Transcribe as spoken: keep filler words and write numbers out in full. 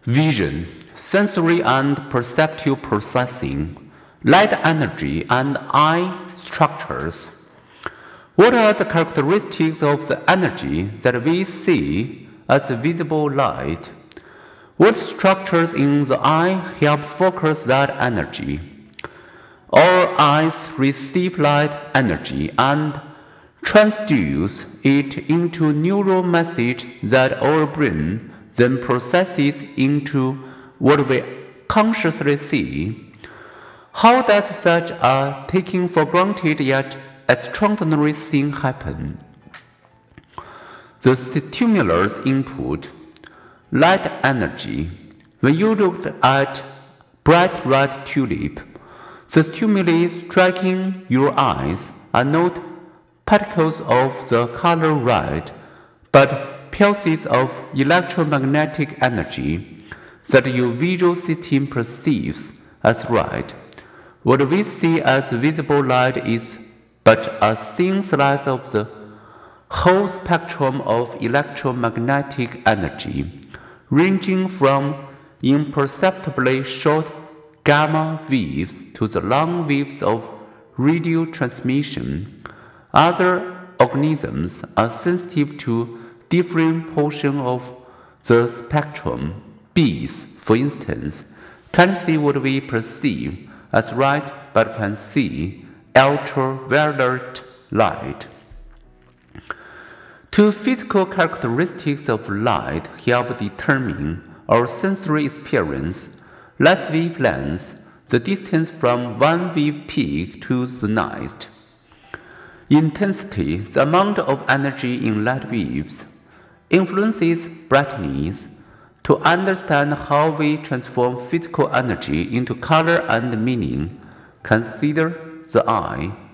Vision, sensory and perceptual processing, light energy, and eye structures. What are the characteristics of the energy that we see as visible light? What structures in the eye help focus that energy? Our eyes receive light energy and transduce it into neural message that our brain then processes into what we consciously see. How does such a taking for granted yet extraordinary thing happen? The stimulus input, light energy. When you looked at bright red tulip, the stimuli striking your eyes are not particles of the color red, but pulses of electromagnetic energy that your visual system perceives as red. What we see as visible light is but a thin slice of the whole spectrum of electromagnetic energy, ranging from imperceptibly short gamma waves to the long waves of radio transmission. Other organisms are sensitive to different portions of the spectrum. Bees, for instance, can see what we perceive as light but can see ultraviolet light. Two physical characteristics of light help determine our sensory experience: light wavelength, the distance from one wave peak to the next; intensity, the amount of energy in light waves, influences brightness. To understand how we transform physical energy into color and meaning, consider the eye.